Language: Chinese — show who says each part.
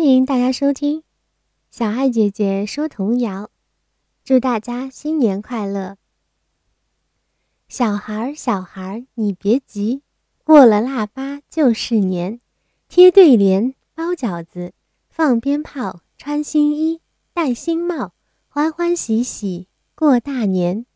Speaker 1: 迎大家收听小爱姐姐说童谣，祝大家新年快乐。小孩儿，小孩儿，你别急，过了腊八就是年，贴对联，包饺子，放鞭炮，穿新衣，戴新帽，欢欢喜喜过大年。